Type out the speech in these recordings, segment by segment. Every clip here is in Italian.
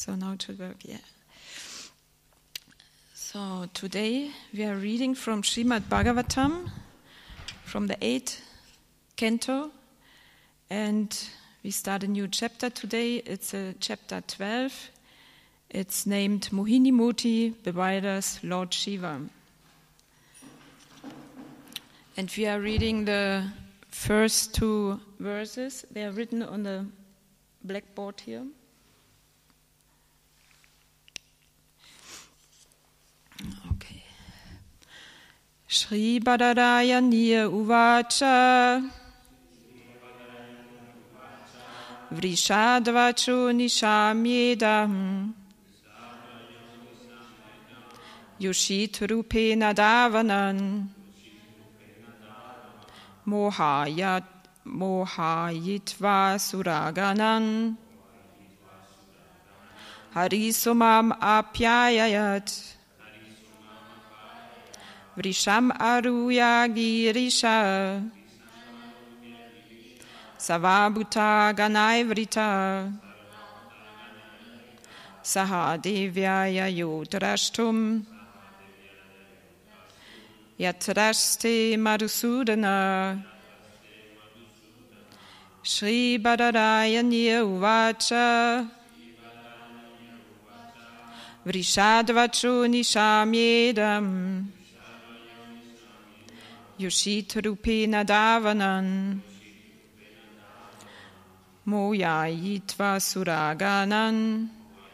So now it should work, yeah. So today we are reading from Srimad Bhagavatam, from the 8th canto, and we start a new chapter today. It's chapter 12. It's named Mohini Murti bewilders Lord Shiva. And we are reading the first two verses. They are written on the blackboard here. Okay. Shri Badarayaniya Uvacha Vrishadvacho Nishamyedam Yoshit-rupena Davanan Mohayitva Suraganan Harisumam Apyayayat Vrisham Aruya Girisha Savabhuta Ganaivrita Sahadevyaya Yodrashtum Yatraste Madhusudana Shri Badarayaniya Uvacha Vrishadvacho Nishamyedam Yoshit-rupena Davanan Mohayitva Suraganan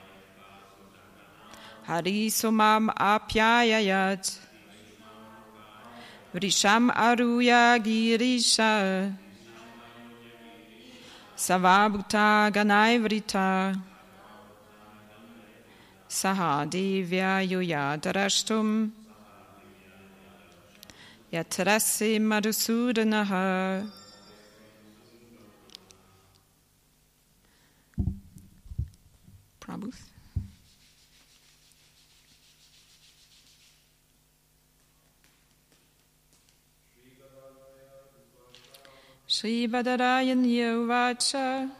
Harisumam Apyayayat Vrisham Aruya Girisha Savabhuta Ganaivrita Sahadevya Yoyadarashtum Yatrase Madhusudanaha. Prabhu. Shri Badarayaniya Uvacha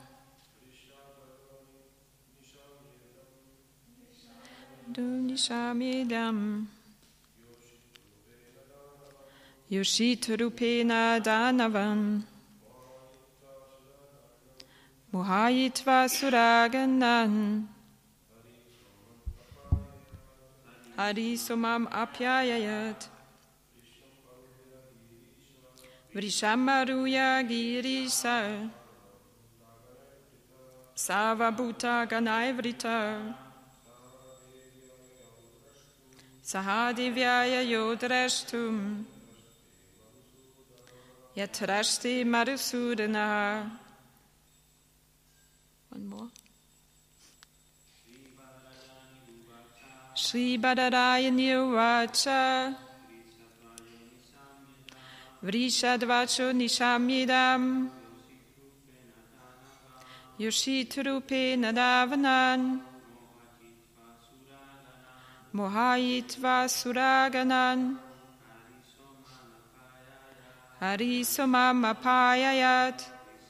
Nishamyedam Yoshit-rupena Danavam Mohayitva Suraganan Harisumam Apyayayat Vrishamaruya Girisa Savabhuta Ganaivrita Sahadevyaya Yodrashtum Yatrashte Madhusudana. One more. Shri Badarayaniya Uvacha Vrishadvacho Nishamyedam Yoshit-rupena Davanan Mohayitva Suraganan Harisumam Apyayat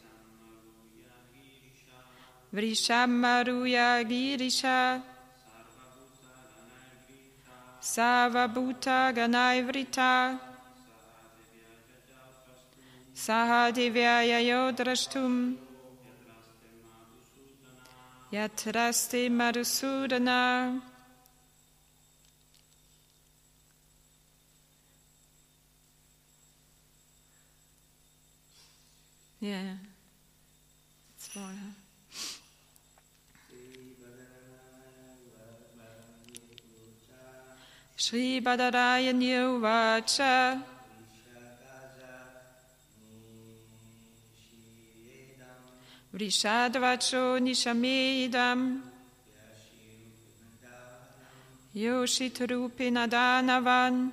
Vrisham Aruya Girisha Savabhuta Ganaivrita Sahadevyaya Yodrashtum Yatraste Madhusudana. Yeah, it's more. Shri Badarayaniya Uvacha Vrishadvacho Nishamyedam Yoshit-rupena Danavan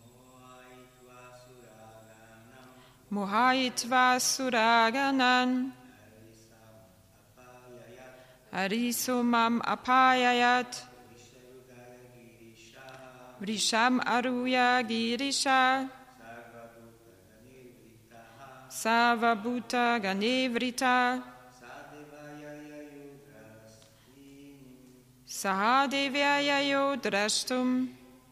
Mohayitva Suraganan Harisumam Apyayat Vrisham Aruya Girisha Savabhuta Ganevrita Sahadevyaya yodrashtum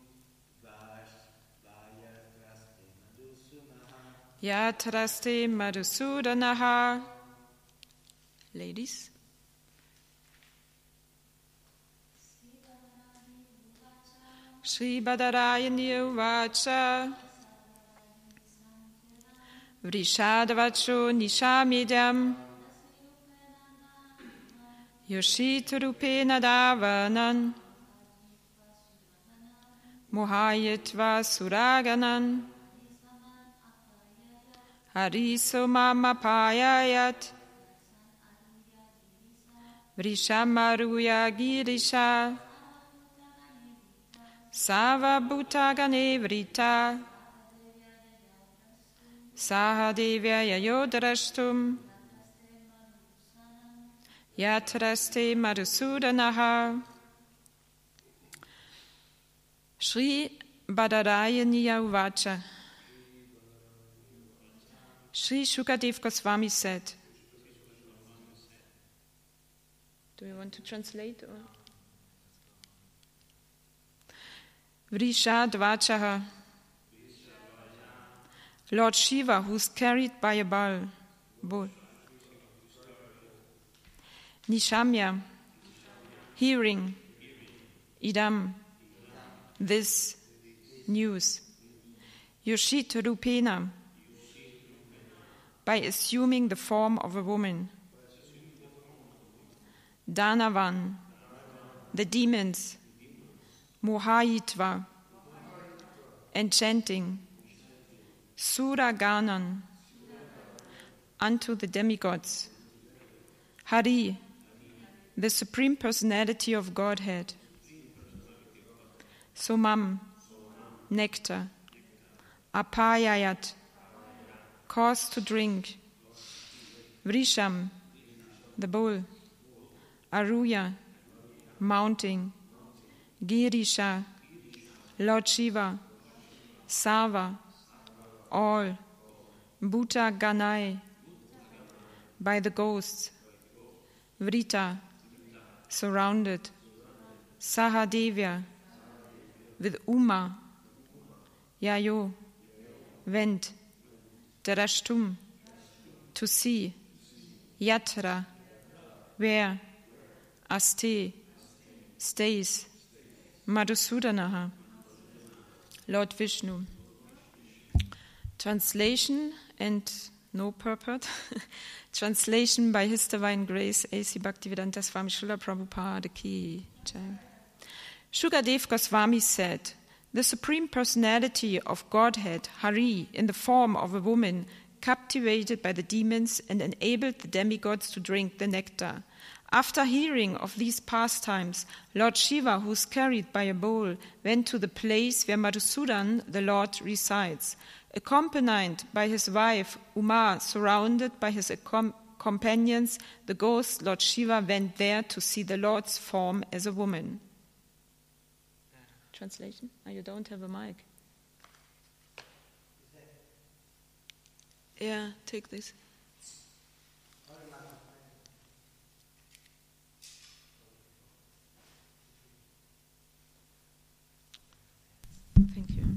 yatraste madhusudanaha. Ladies. Shri Badarayani Uvacha Vrishadavacho Nishamidam Yoshiturupena Davanan Mohayatva Suraganan Hariso Mamapayayat Vrishamaruya Girisha Sava Bhutagane Vrita Sahadevyaya yodrashtum yatraste madhusudanaha. Shri Badarayaniya Uvacha. Shri Shukadev Goswami said. Do you want to translate? Or? Vrishadvachaha. Lord Shiva, who's carried by a bull. Nishamya, hearing. Idam, this news. Yoshita Rupena, by assuming the form of a woman. Danavan, the demons. Mohayitva, enchanting. Suraganan, unto the demigods. Hari, the Supreme Personality of Godhead. Somam, nectar. Apayayat, cause to drink. Vrisham, the bull. Aruya, mounting. Girisha, Lord Shiva. Sava, all. Bhuta Ganai, by the ghosts. Vrita, surrounded. Sahadevya, with Uma. Yayo, went. Drashtum, to see. Yatra, where. Aste, stays. Madhusudanaha, Lord Vishnu. Translation and no purport. Translation by His Divine Grace A.C. Bhaktivedanta Swami Srila Prabhupada Ki Jai. Shukadev Goswami said, the Supreme Personality of Godhead, Hari, in the form of a woman, captivated by the demons and enabled the demigods to drink the nectar. After hearing of these pastimes, Lord Shiva, who is carried by a bull, went to the place where Madhusudan, the Lord, resides. Accompanied by his wife, Uma, surrounded by his companions, the ghost Lord Shiva went there to see the Lord's form as a woman. Translation? Oh, you don't have a mic. Yeah, take this. Thank you.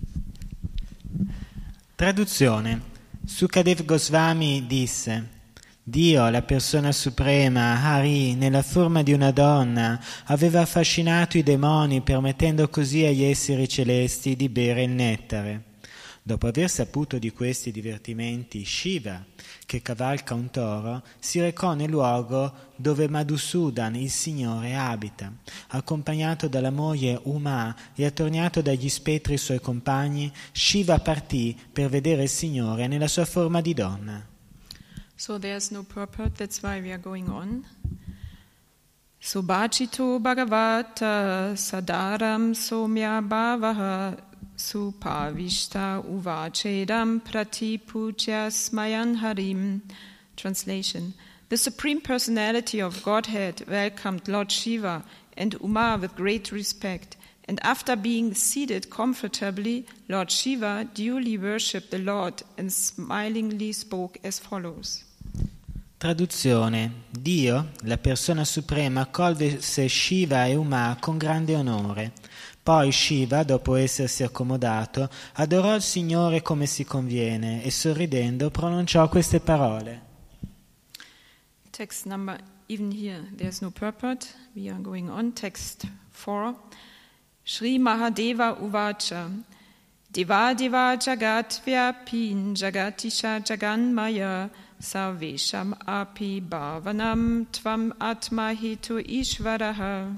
Traduzione. Sukadev Goswami disse: Dio, la persona suprema, Hari, nella forma di una donna, aveva affascinato i demoni, permettendo così agli esseri celesti di bere il nettare. Dopo aver saputo di questi divertimenti, Shiva, che cavalca un toro, si recò nel luogo dove Madhusudan, il Signore, abita. Accompagnato dalla moglie Uma e attorniato dagli spettri suoi compagni, Shiva partì per vedere il Signore nella sua forma di donna. So there's no purport, that's why we are going on. Subhachito Bhagavata Sadaram Somya Bhavaha Supavishta Uvachedam Pratipuja Smayan Harim. Translation. The Supreme Personality of Godhead welcomed Lord Shiva and Uma with great respect, and after being seated comfortably, Lord Shiva duly worshipped the Lord and smilingly spoke as follows. Traduzione: Dio, la persona suprema, accolse Shiva e Uma con grande onore. Poi Shiva, dopo essersi accomodato, adorò il Signore come si conviene e sorridendo pronunciò queste parole. Text number, even here there's no purport. We are going on. Text 4. Shri Mahadeva Uvacha. Deva Deva Jagat Vyapin Jagatisha Jaganmaya Sarvesham Api Bhavanam Tvam Atma Hetu Ishvaraha.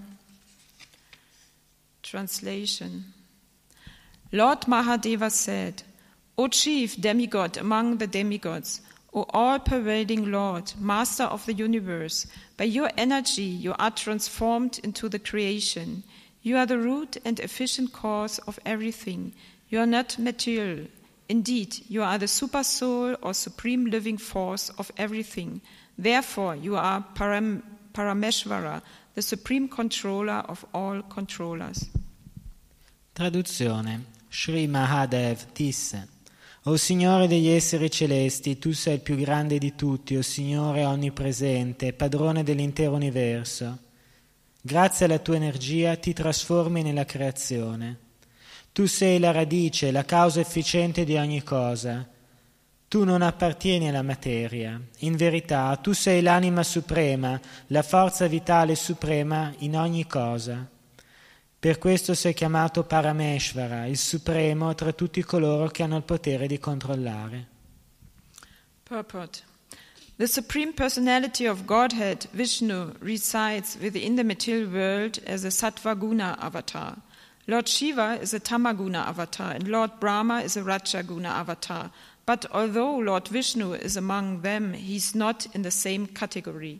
Translation. Lord Mahadeva said, O chief demigod among the demigods, O all-pervading Lord, Master of the universe, by your energy you are transformed into the creation. You are the root and efficient cause of everything. You are not material. Indeed, you are the super soul or supreme living force of everything. Therefore, you are Parameshvara, the supreme controller of all controllers. Traduzione. Sri Mahadev disse: O Signore degli esseri celesti, tu sei il più grande di tutti, o Signore onnipresente, padrone dell'intero universo. Grazie alla tua energia ti trasformi nella creazione. Tu sei la radice, la causa efficiente di ogni cosa. Tu non appartieni alla materia. In verità, tu sei l'anima suprema, la forza vitale suprema in ogni cosa. Per questo sei chiamato Parameshvara, il supremo tra tutti coloro che hanno il potere di controllare. Purport. The Supreme Personality of Godhead, Vishnu, resides within the material world as a Sattva-guna avatar. Lord Shiva is a Tamaguna avatar and Lord Brahma is a Rajaguna avatar. But although Lord Vishnu is among them, he is not in the same category.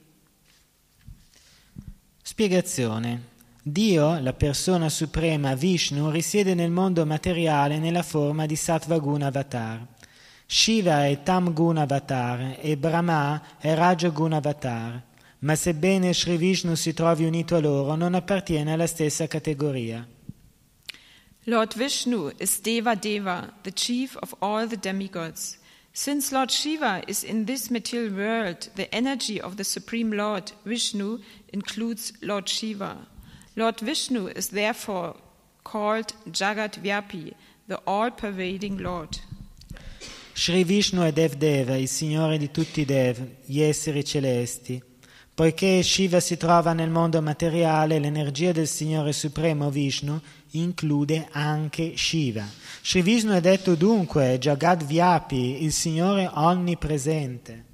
Spiegazione. Dio, la persona suprema Vishnu, risiede nel mondo materiale nella forma di Sattva-guna avatar. Shiva è Tam-guna avatar e Brahma è Raja-guna avatar. Ma sebbene Sri Vishnu si trovi unito a loro, non appartiene alla stessa categoria. Lord Vishnu is Deva Deva, the chief of all the demigods. Since Lord Shiva is in this material world, the energy of the Supreme Lord Vishnu includes Lord Shiva. Lord Vishnu is therefore called Jagat Vyapi, the all-pervading Lord. Sri Vishnu è Dev Deva, il Signore di tutti i Dev, gli esseri celesti. Poiché Shiva si trova nel mondo materiale, l'energia del Signore Supremo Vishnu include anche Shiva. Sri Vishnu è detto dunque Jagat Vyapi, il Signore onnipresente.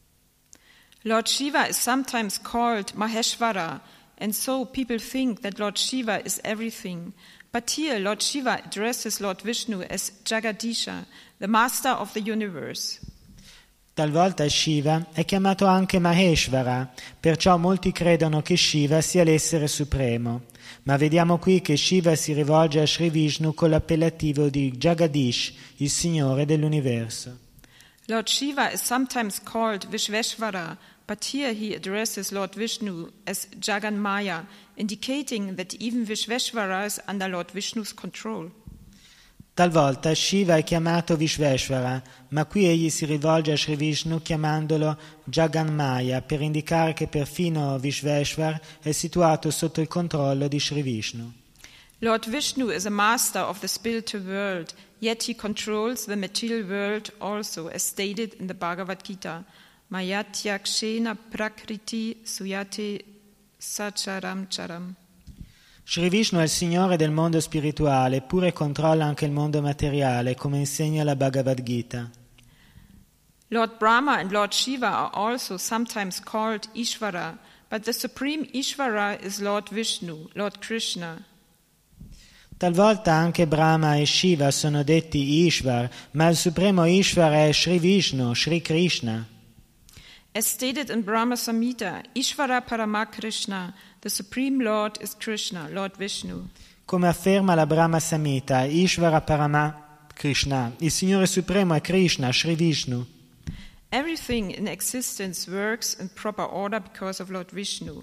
Lord Shiva is sometimes called Maheshvara, and so people think that Lord Shiva is everything. But here Lord Shiva addresses Lord Vishnu as Jagadisha, the master of the universe. Talvolta Shiva è chiamato anche Maheshvara, perciò molti credono che Shiva sia l'essere supremo. Ma vediamo qui che Shiva si rivolge a Sri Vishnu con l'appellativo di Jagadish, il Signore dell'universo. Lord Shiva is sometimes called Vishveshvara, but here he addresses Lord Vishnu as Jaganmaya, indicating that even Vishveshvara is under Lord Vishnu's control. Talvolta Shiva è chiamato Vishveshvara, ma qui egli si rivolge a Sri Vishnu chiamandolo Jaganmaya per indicare che perfino Vishveshvar è situato sotto il controllo di Sri Vishnu. Lord Vishnu is a master of the spiritual world, yet he controls the material world also, as stated in the Bhagavad Gita. Mayatyaksena prakriti suyate sacharam charam. Sri Vishnu è il Signore del mondo spirituale, eppure controlla anche il mondo materiale, come insegna la Bhagavad Gita. Lord Brahma and Lord Shiva are also sometimes called Ishvara, but the supreme Ishvara is Lord Vishnu, Lord Krishna. Talvolta anche Brahma e Shiva sono detti Ishvar, ma il supremo Ishvar è Sri Vishnu, Sri Krishna. As stated in Brahma Samhita, Ishvara Parama Krishna, the Supreme Lord is Krishna, Lord Vishnu. Come afferma la Brahma Samhita, Ishvara Parama Krishna, il Signore Supremo è Krishna, Sri Vishnu. Everything in existence works in proper order because of Lord Vishnu.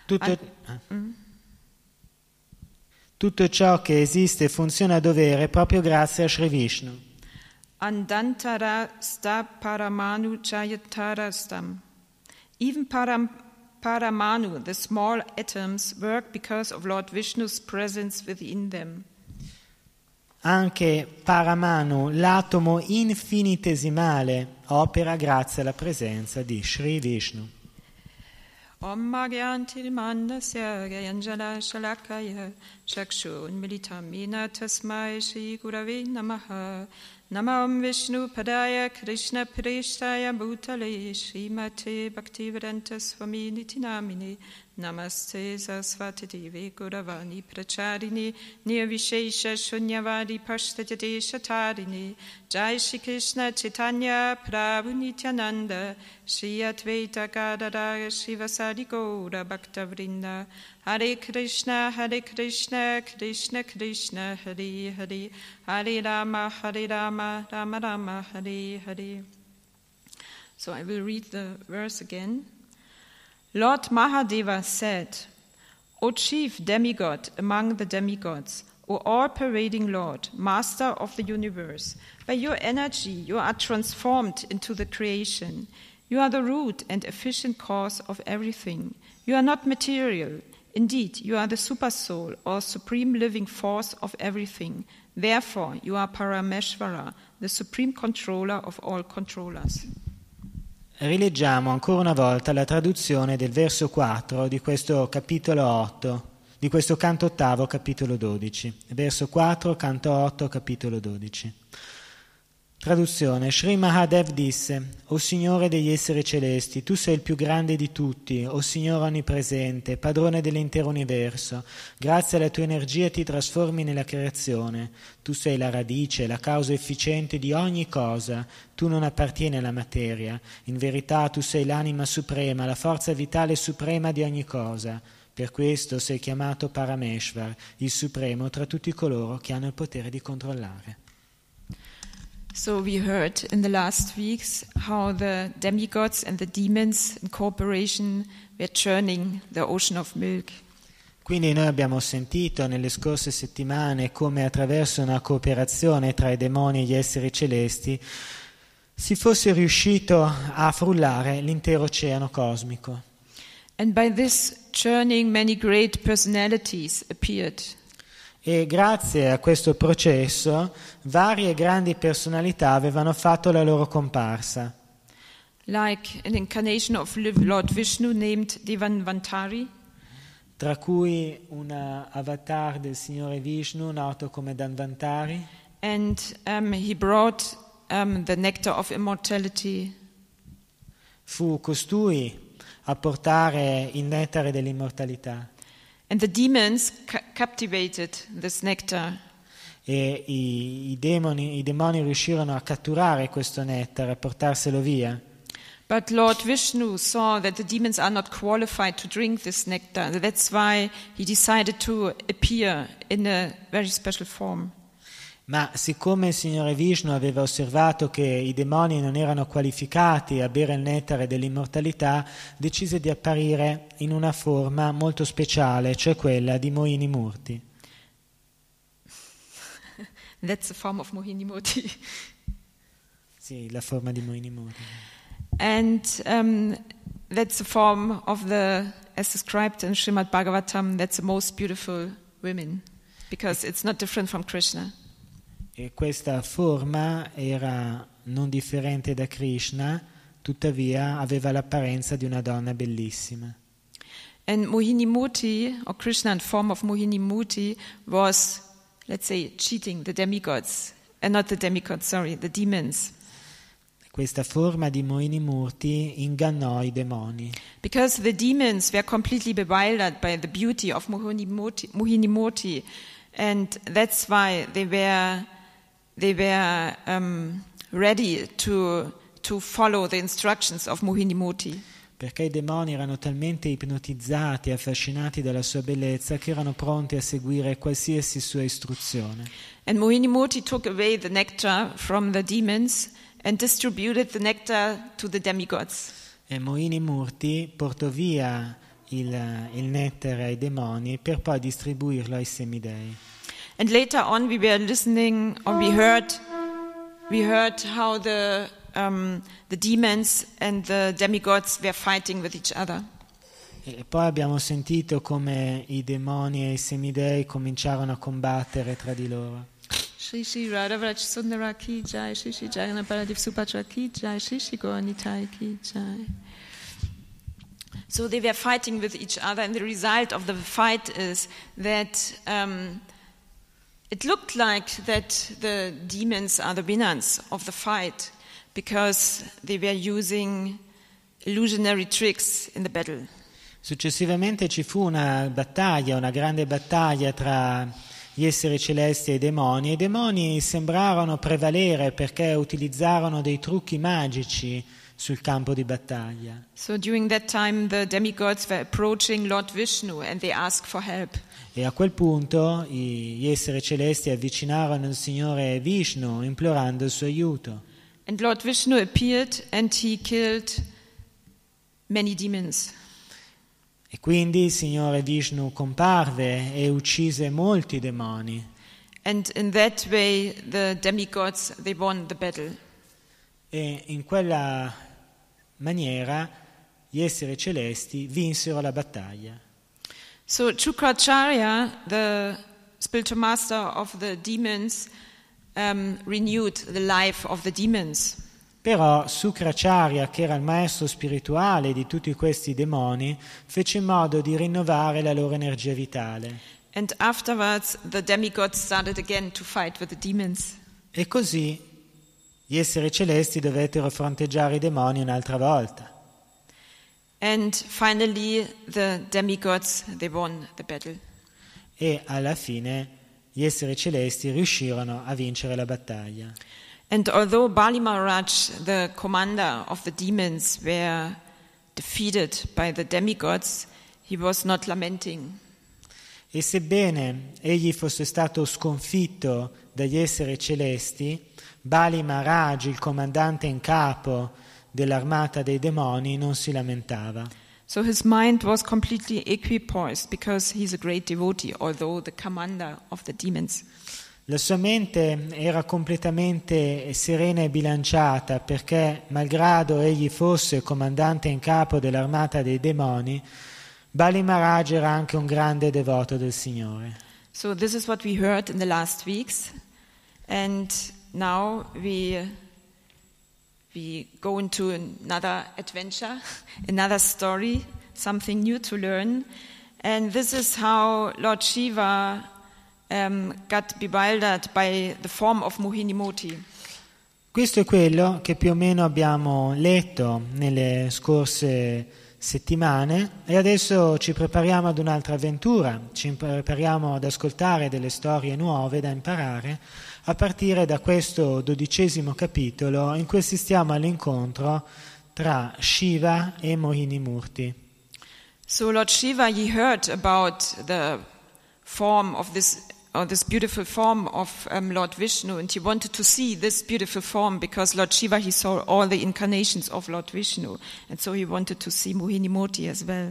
Tutto ciò che esiste funziona a dovere proprio grazie a Sri Vishnu. Andantara sta paramanu chayatarastam. Even Paramanu, the small atoms, work because of Lord Vishnu's presence within them. Anche Paramanu, l'atomo infinitesimale, opera grazie alla presenza di Sri Vishnu. Om Magyantil Mandasya Gayanjala Shalakaya Chakshun Militamina Tasmai Shri Gurave Namaha Namam Vishnu Padaya Krishna Prishtaya Bhutale Srimate Bhaktivedanta Swami Nitinamini Namaste Saraswati Devi Guravani Pracharini Nirvishesha Shunyavadi Pashtajade Shatarini Jai Shri Krishna Chaitanya Prabhu Nityananda Shri Advaita Gadadara Shivasadi Gaura Bhaktavrinda Hare Krishna Krishna Krishna Hare Hare Hare Rama Rama Rama Hare Hare. So I will read the verse again. Lord Mahadeva said, O chief demigod among the demigods, O all-pervading Lord, master of the universe, by your energy you are transformed into the creation. You are the root and efficient cause of everything. You are not material. Indeed, you are the supersoul or supreme living force of everything. Therefore, you are Parameshvara, the supreme controller of all controllers. Rileggiamo ancora una volta la traduzione del verso 4 di questo capitolo 8, di questo canto ottavo, capitolo 12. Verso 4, canto 8, capitolo 12. Traduzione. Sri Mahadev disse: O Signore degli esseri celesti, tu sei il più grande di tutti, o Signore onnipresente, padrone dell'intero universo. Grazie alla tua energia ti trasformi nella creazione. Tu sei la radice, la causa efficiente di ogni cosa. Tu non appartieni alla materia. In verità tu sei l'anima suprema, la forza vitale suprema di ogni cosa. Per questo sei chiamato Parameshvar, il supremo tra tutti coloro che hanno il potere di controllare. So we heard in the last weeks how the demigods and the demons in cooperation were churning the ocean of milk. Quindi noi abbiamo sentito nelle scorse settimane come attraverso una cooperazione tra i demoni e gli esseri celesti si fosse riuscito a frullare l'intero oceano cosmico. And by this churning many great personalities appeared. E grazie a questo processo varie grandi personalità avevano fatto la loro comparsa. Like an incarnation of Lord Vishnu named Devanvantari. Tra cui un avatar del Signore Vishnu noto come Dhanvantari. And he brought the nectar of immortality. Fu costui a portare il nettare dell'immortalità. And the demons captivated this nectar. E i demoni riuscirono a catturare questo nettare, a portarselo via. But Lord Vishnu saw that the demons are not qualified to drink this nectar. That's why he decided to appear in a very special form. Ma siccome il Signore Vishnu aveva osservato che i demoni non erano qualificati a bere il nettare dell'immortalità, decise di apparire in una forma molto speciale, cioè quella di Mohini Murti. That's the form of Mohini Murti. Sì, la forma di Mohini Murti. And that's the form of as described in Srimad Bhagavatam, that's the most beautiful women, because it's not different from Krishna. E questa forma era non differente da Krishna, tuttavia aveva l'apparenza di una donna bellissima. And Mohini Murti, or Krishna in form of Mohini Murti, was, let's say, cheating the demigods, and not the demigods, sorry, the demons. Questa forma di Mohini Murti ingannò i demoni. Because the demons were completely bewildered by the beauty of Mohini Murti, and that's why they were ready to follow the instructions of Mohini Murti. Perché i demoni erano talmente ipnotizzati e affascinati dalla sua bellezza che erano pronti a seguire qualsiasi sua istruzione. And Mohini Murti took away the nectar from the demons and distributed the nectar to the demigods. E Mohini Murti portò via il nettare ai demoni per poi distribuirlo ai semidei. And later on we were listening, or we heard how the the demons and the demigods were fighting with each other. E poi abbiamo sentito come i demoni e i semidei cominciarono a combattere tra di loro. Shri Shri Radhavraj Sundara Ki Jai, Shri Shri Jagannath Baladev Subhadra Ki Jai, Shri Shri Gauranitai Ki Jai. So they were fighting with each other, and the result of the fight is that it looked like that the demons are the winners of the fight because they were using illusionary tricks in the battle. Successivamente ci fu una grande battaglia tra gli esseri celesti e i demoni sembrarono prevalere perché utilizzarono dei trucchi magici sul campo di battaglia. So during that time the demigods were approaching Lord Vishnu and they asked for help. E a quel punto gli esseri celesti avvicinarono il Signore Vishnu implorando il suo aiuto. And Lord Vishnu appeared and he killed many demons. E quindi il Signore Vishnu comparve e uccise molti demoni. And in that way the demigods, they won the battle. E in quella maniera gli esseri celesti vinsero la battaglia. So Shukracharya, the spiritual master of the demons, renewed the life of the demons. Però Sukracharya, che era il maestro spirituale di tutti questi demoni, fece in modo di rinnovare la loro energia vitale. And afterwards the demigods started again to fight with the demons. E così gli esseri celesti dovettero fronteggiare i demoni un'altra volta. And finally the demigods, they won the battle. E alla fine gli esseri celesti riuscirono a vincere la battaglia. And although Bali Maharaj, the commander of the demons, were defeated by the demigods, he was not lamenting. E sebbene egli fosse stato sconfitto dagli esseri celesti, Bali Maharaj, il comandante in capo dell'armata dei demoni, non si lamentava. So his mind was completely equipoised because he's a great devotee, although the commander of the demons. La sua mente era completamente serena e bilanciata perché, malgrado egli fosse comandante in capo dell'armata dei demoni, Bali Maharaj era anche un grande devoto del Signore. So this is what we heard in the last weeks, and now we go into another adventure, another story, something new to learn, and this is how Lord Shiva got bewildered by the form of Mohini Moti. Questo è quello che più o meno abbiamo letto nelle scorse settimane e adesso ci prepariamo ad un'altra avventura, ci prepariamo ad ascoltare delle storie nuove da imparare a partire da questo 12° capitolo in cui assistiamo all'incontro tra Shiva e Mohini Murti. So Lord Shiva, he heard about the form of this beautiful form of Lord Vishnu, and he wanted to see this beautiful form because Lord Shiva, he saw all the incarnations of Lord Vishnu, and so he wanted to see Mohini Moti as well.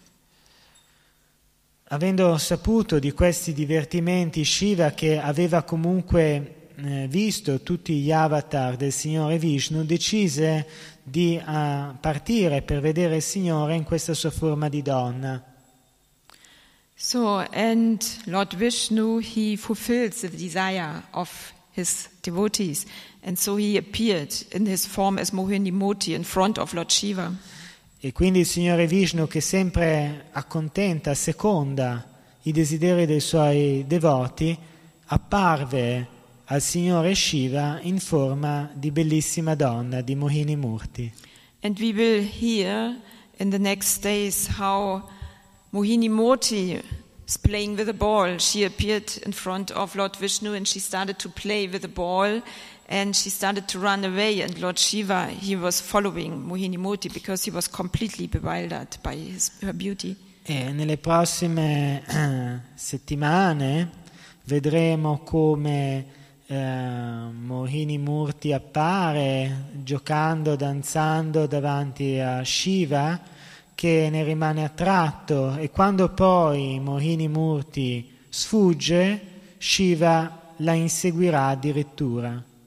Avendo saputo di questi divertimenti, Shiva, che aveva comunque visto tutti gli avatar del Signore Vishnu, decise di partire per vedere il Signore in questa sua forma di donna. So, and Lord Vishnu, he fulfills the desire of his devotees, and so he appeared in his form as Mohini Moti in front of Lord Shiva. E quindi il Signore Vishnu, che sempre accontenta, seconda i desideri dei suoi devoti, apparve al Signore Shiva in forma di bellissima donna, di Mohini Murti. And we will hear in the next days how Mohini Moti is playing with a ball. She appeared in front of Lord Vishnu and she started to play with the ball and she started to run away, and Lord Shiva, he was following Mohini Moti because he was completely bewildered by her beauty. E nelle prossime settimane vedremo come Mohini Murti appare giocando, danzando davanti a Shiva, che ne rimane attratto, e quando poi Mohini Murti sfugge, Shiva la inseguirà addirittura.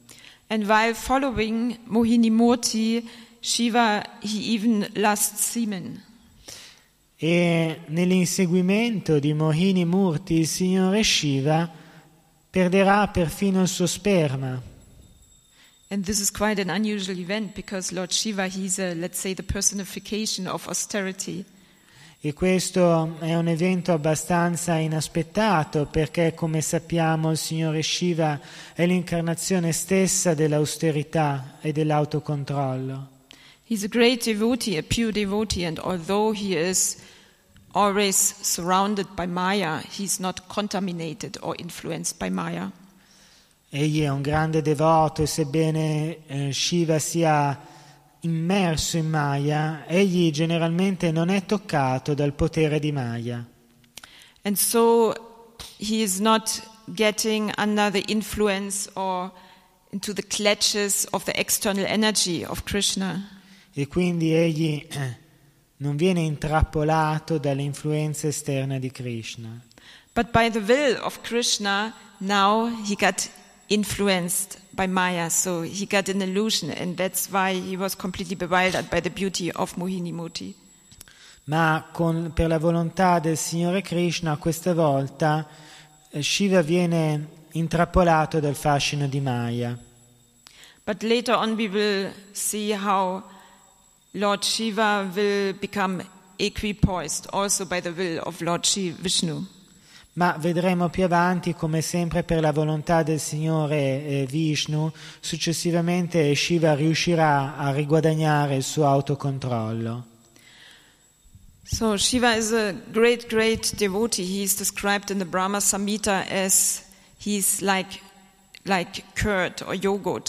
And while following Mohini Murti, Shiva, he even lusts semen. E nell'inseguimento di Mohini Murti il Signore Shiva perderà perfino il suo sperma. And this is quite an unusual event because Lord Shiva, he's let's say, the personification of austerity. E questo è un evento abbastanza inaspettato perché, come sappiamo, il Signore Shiva è l'incarnazione stessa dell'austerità e dell'autocontrollo. He's a great devotee, a pure devotee, and although he is always surrounded by Maya, he's not contaminated or influenced by Maya. Egli è un grande devoto e sebbene Shiva sia immerso in Maya, egli generalmente non è toccato dal potere di Maya. And so he is not getting under the influence or into the clutches of the external energy of Krishna. E quindi egli non viene intrappolato dalle influenze esterne di Krishna. But by the will of Krishna, now he got influenced by Maya, so he got an illusion, and that's why he was completely bewildered by the beauty of Mohini Murti. Ma per la volontà del Signore Krishna, questa volta Shiva viene intrappolato dal fascino di Maya. But later on we will see how Lord Shiva will become equipoised also by the will of Lord Vishnu. Ma vedremo più avanti come sempre per la volontà del Signore Vishnu, successivamente Shiva riuscirà a riguadagnare il suo autocontrollo. So Shiva is a great, great devotee. He is described in the Brahma Samhita as he's like curd or yogurt.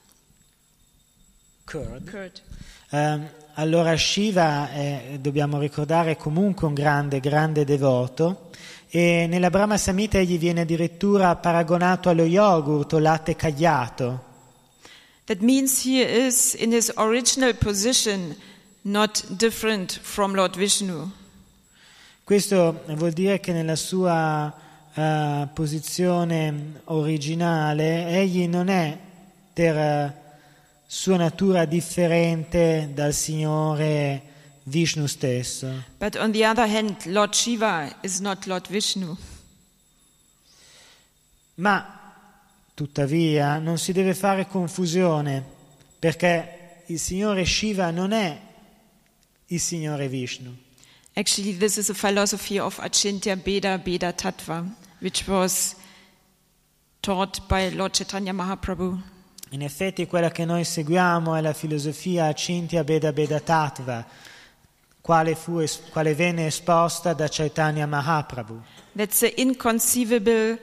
Curd. Allora Shiva dobbiamo ricordare, è comunque un grande, grande devoto. E nella Brahma Samhita egli viene addirittura paragonato allo yogurt o latte cagliato. That means he is in his original position not different from Lord Vishnu. Questo vuol dire che nella sua posizione originale egli non è per sua natura differente dal Signore Vishnu stesso. But on the other hand, Lord Shiva is not Lord Vishnu. Ma tuttavia non si deve fare confusione, perché il Signore Shiva non è il Signore Vishnu. Actually, this is a philosophy of Achintya Bheda Bheda Tattva, which was taught by Lord Chaitanya Mahaprabhu. In effetti quella che noi seguiamo è la filosofia Achintya Bheda Bheda Tattva, quale venne esposta da Chaitanya Mahaprabhu. That's the inconceivable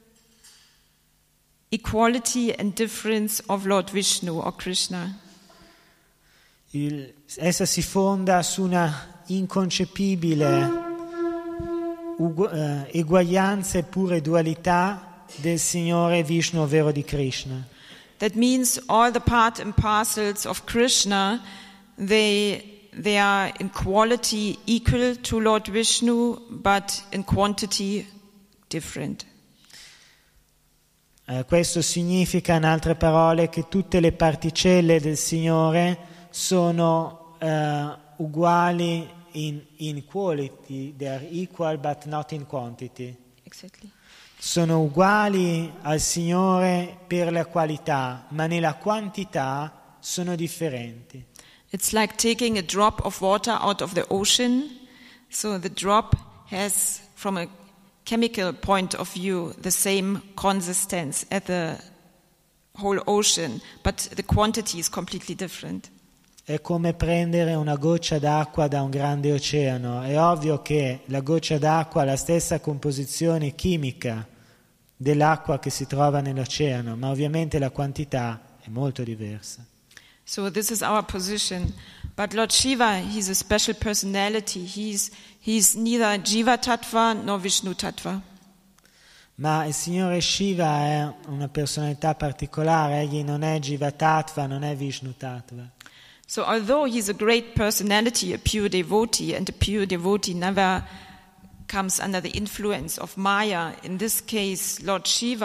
equality and difference of Lord Vishnu or Krishna. Essa si fonda su una inconcepibile eguaglianza e pure dualità del Signore Vishnu, ovvero di Krishna. That means all the part and parcels of Krishna, they are in quality equal to Lord Vishnu, but in quantity different. Questo significa, in altre parole, che tutte le particelle del Signore sono uguali in quality, they are equal but not in quantity. Exactly. Sono uguali al Signore per la qualità, ma nella quantità sono differenti. It's like taking a drop of water out of the ocean. So the drop has, from a chemical point of view, the same consistence as the whole ocean, but the quantity is completely different. È come prendere una goccia d'acqua da un grande oceano. È ovvio che la goccia d'acqua ha la stessa composizione chimica dell'acqua che si trova nell'oceano, ma ovviamente la quantità è molto diversa. So this is our position. But Lord Shiva, he's a special personality. He's neither Jiva Tattva nor Vishnu Tattva. Ma il Signore Shiva è una personalità particolare, egli non è Jiva Tattva, non è Vishnu Tattva. So although he's a great personality, a pure devotee, and a pure devotee never comes under the influence of Maya, in this case, Lord Shiva,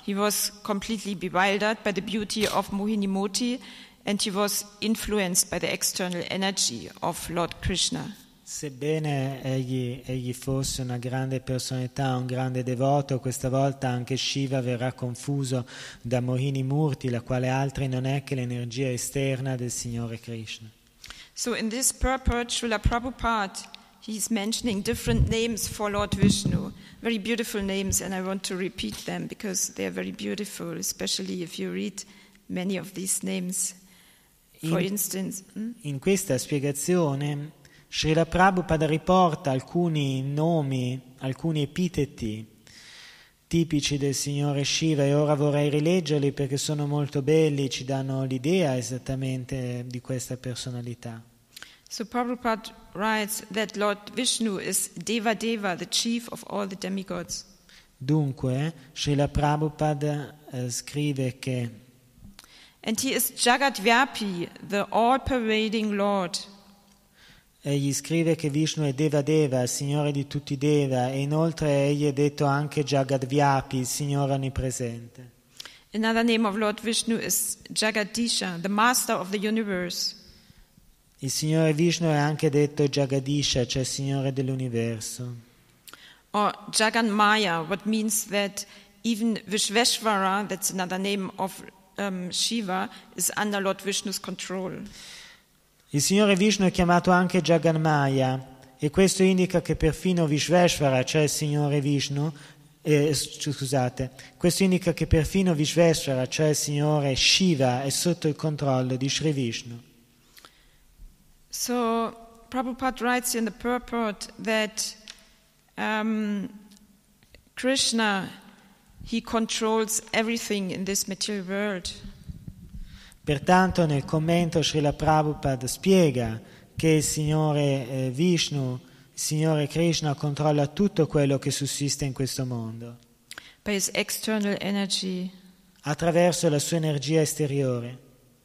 he was completely bewildered by the beauty of Mohinimoti and he was influenced by the external energy of Lord Krishna. Sebbene egli fosse una grande personalità, un grande devoto, questa volta anche Shiva verrà confuso da Mohini Murti, la quale altri non è che l'energia esterna del Signore Krishna. So in this purport, Srila Prabhupada, he's mentioning different names for Lord Vishnu, very beautiful names, and I want to repeat them because they are very beautiful, especially if you read many of these names. For instance, in questa spiegazione Srila Prabhupada riporta alcuni nomi, alcuni epiteti tipici del Signore Shiva e ora vorrei rileggerli perché sono molto belli, ci danno l'idea esattamente di questa personalità. So Prabhupada writes that Lord Vishnu is Deva Deva, the chief of all the demigods. Dunque, Srila Prabhupada scrive che And he is Jagat Vyapi, the all-pervading Lord. Egli scrive che Vishnu è Deva Deva, il Signore di tutti i Deva, e inoltre egli è detto anche Jagadvyapi, il Signore onnipresente. Another name of Lord Vishnu is Jagadisha, the master of the universe. Il Signore Vishnu è anche detto Jagadisha, cioè il Signore dell'universo. Or Jaganmaya, what means that even Vishveshvara, that's another name of Shiva, is under Lord Vishnu's control. Il Signore Vishnu è chiamato anche Jaganmaya e questo indica che perfino Vishveshvara, cioè il Signore Vishnu, questo indica che perfino Vishveshvara, cioè il Signore Shiva, è sotto il controllo di Sri Vishnu. So Prabhupada writes in the purport that Krishna, he controls everything in this material world. Pertanto nel commento Srila Prabhupada spiega che il Signore Vishnu, il Signore Krishna controlla tutto quello che sussiste in questo mondo. By his external energy. Attraverso la sua energia esteriore.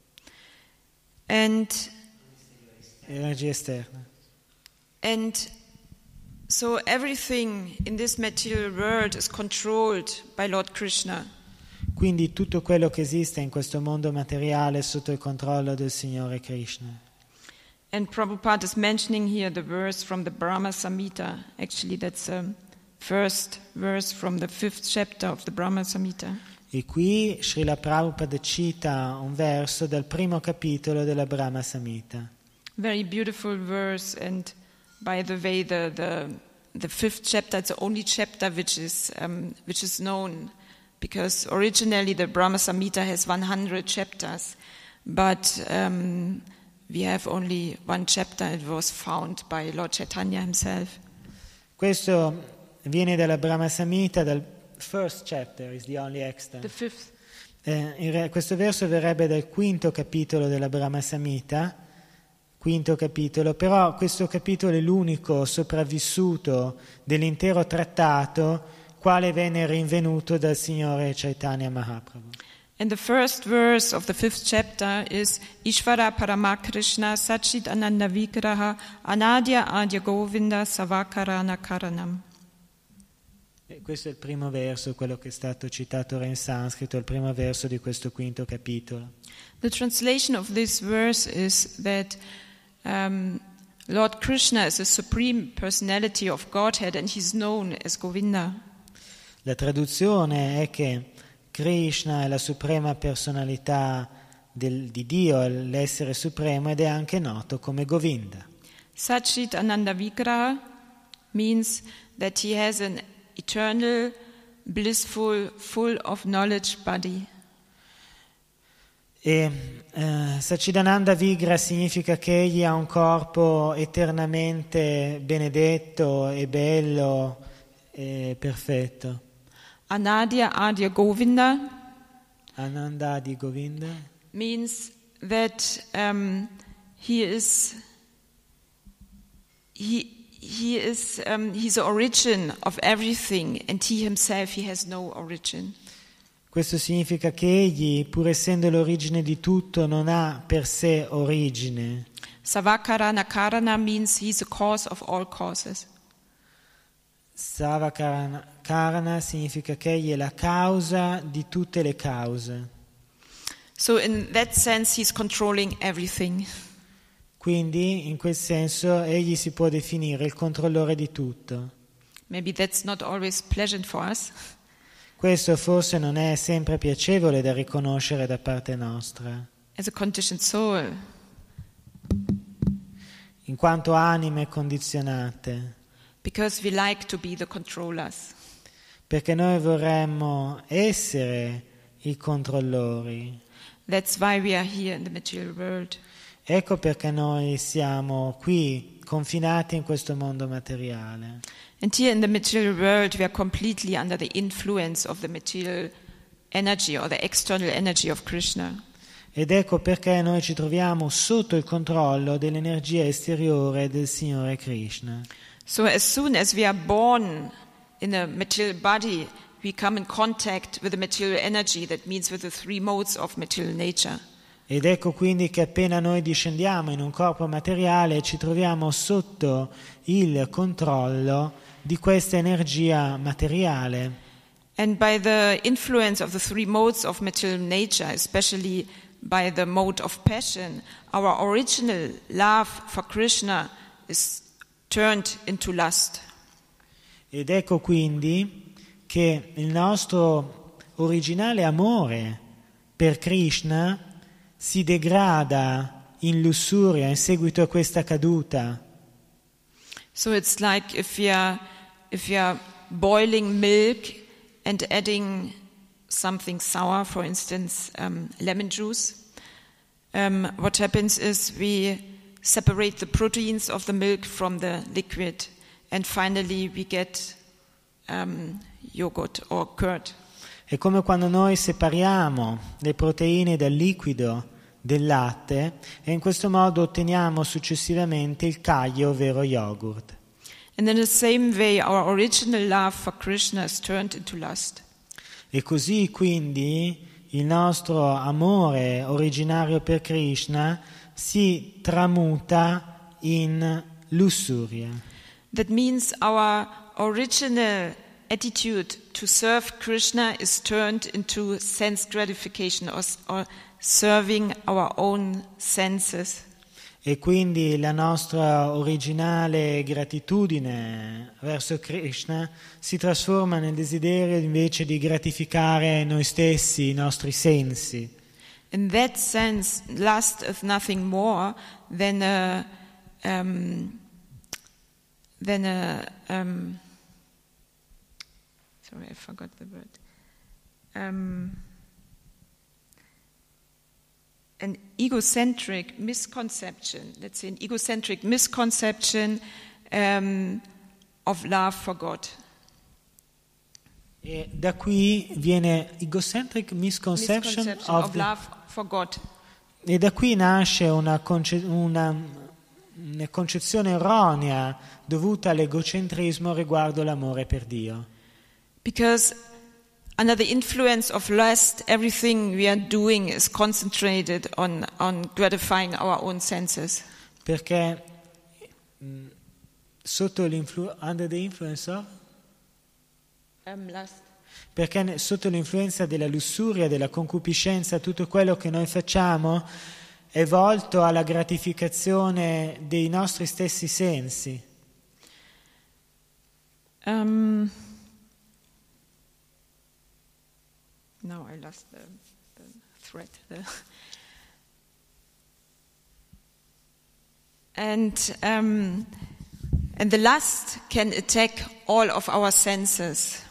Energia esterna. And so everything in this material world is controlled by Lord Krishna. Quindi tutto quello che esiste in questo mondo materiale è sotto il controllo del Signore Krishna. And Prabhupada is mentioning here the verse from the Brahma Samhita. Actually, that's the first verse from the 5th chapter of the Brahma Samhita. E qui Srila Prabhupada cita un verso dal primo capitolo della Brahma Samhita. Very beautiful verse, and by the way, the 5th chapter, it's the only chapter which is known. Because originally the Brahma Samhita has 100 chapters, but we have only one chapter. It was found by Lord Chaitanya himself. Questo viene dalla Brahma Samhita, dal first chapter is the only extant. The 5th. Questo verso verrebbe dal 5° capitolo della Brahma Samhita, 5° capitolo, però questo capitolo è l'unico sopravvissuto dell'intero trattato quale venne rinvenuto dal Signore Chaitanya Mahaprabhu. And the first verse of the 5th chapter is Ishvara Parama Krishna Sachit Ananda Vigraha Anadya Adya Govinda Savakarana Karanam. E questo è il primo verso, quello che è stato citato ora in sanscrito, il primo verso di questo 5° capitolo. The translation of this verse is that Lord Krishna is the supreme personality of Godhead and he's known as Govinda. La traduzione è che Krishna è la suprema personalità di Dio, l'essere supremo, ed è anche noto come Govinda. Sachit Ananda Vigraha means that he has an eternal, blissful, full of knowledge body. E Sachidananda Vigraha significa che egli ha un corpo eternamente benedetto e bello e perfetto. Anadya Adya Govinda Ananda Adi Govinda means that he's the origin of everything, and he himself, he has no origin. Questo significa che egli, pur essendo l'origine di tutto, non ha per sé origine. Savakarana Karana means he's the cause of all causes. Sava Karana significa che egli è la causa di tutte le cause. So in that sense he's controlling everything. Quindi in quel senso egli si può definire il controllore di tutto. Maybe that's not always pleasant for us. Questo forse non è sempre piacevole da riconoscere da parte nostra. As a conditioned soul, In quanto anime condizionate, because we like to be the controllers. perché noi vorremmo essere i controllori. That's why we are here in the material world. Ecco perché noi siamo qui, confinati in questo mondo materiale. And here in the material world we are completely under the influence of the material energy or the external energy of Krishna. Ed ecco perché noi ci troviamo sotto il controllo dell'energia esteriore del Signore Krishna. So as soon as we are born in a material body, we come in contact with the material energy, that means with the three modes of material nature. Ed ecco quindi che appena noi discendiamo in un corpo materiale ci troviamo sotto il controllo di questa energia materiale. And by the influence of the three modes of material nature, especially by the mode of passion, our original love for Krishna is turned into lust. Ed ecco quindi che il nostro originale amore per Krishna si degrada in lussuria in seguito a questa caduta. So it's like if we are boiling milk and adding something sour, for instance, lemon juice. What happens is we separate the proteins of the milk from the liquid, and finally we get yogurt or curd. È come quando noi separiamo le proteine dal liquido del latte e in questo modo otteniamo successivamente il caglio, ovvero yogurt. And in the same way, our original love for Krishna is turned into lust. E così quindi il nostro amore originario per Krishna si tramuta in lussuria. That means our original attitude to serve Krishna is turned into sense gratification or serving our own senses. E quindi la nostra originale gratitudine verso Krishna si trasforma nel desiderio invece di gratificare noi stessi, i nostri sensi. In that sense, lust is nothing more than a sorry, I forgot the word. An egocentric misconception, let's say an egocentric misconception of love for God. E da qui viene egocentric misconception of love for God. E da qui nasce una concezione erronea dovuta all'egocentrismo riguardo l'amore per Dio. Because under the influence of lust, everything we are doing is concentrated on gratifying our own senses. Perché under the influence of? Lust. Perché sotto l'influenza della lussuria, della concupiscenza, tutto quello che noi facciamo è volto alla gratificazione dei nostri stessi sensi. Now I lost the thread. And the lust can attack all of our senses.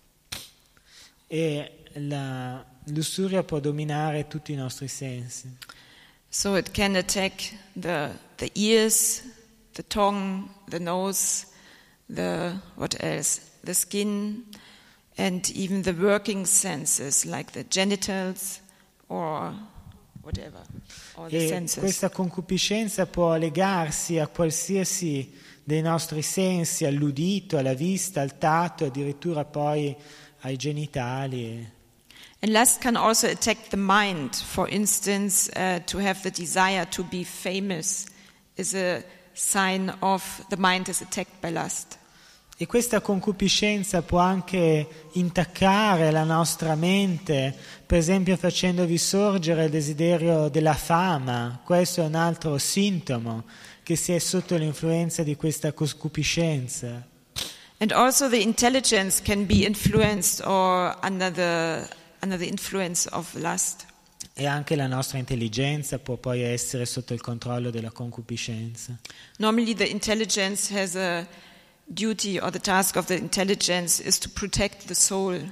E la lussuria può dominare tutti i nostri sensi. So it can attack the ears, the tongue, the nose, what else? The skin, and even the working senses like the genitals or whatever, all the senses. Questa concupiscenza può legarsi a qualsiasi dei nostri sensi, all'udito, alla vista, al tatto, addirittura poi ai genitali. And lust can also attack the mind. For instance, to have the desire to be famous is a sign of the mind is attacked by lust. E questa concupiscenza può anche intaccare la nostra mente, per esempio facendovi sorgere il desiderio della fama. Questo è un altro sintomo, che si è sotto l'influenza di questa concupiscenza. And also the intelligence can be influenced or under the influence of lust. E anche la nostra intelligenza può poi essere sotto il controllo della concupiscenza. Normally the intelligence has a duty, or the task of the intelligence is to protect the soul.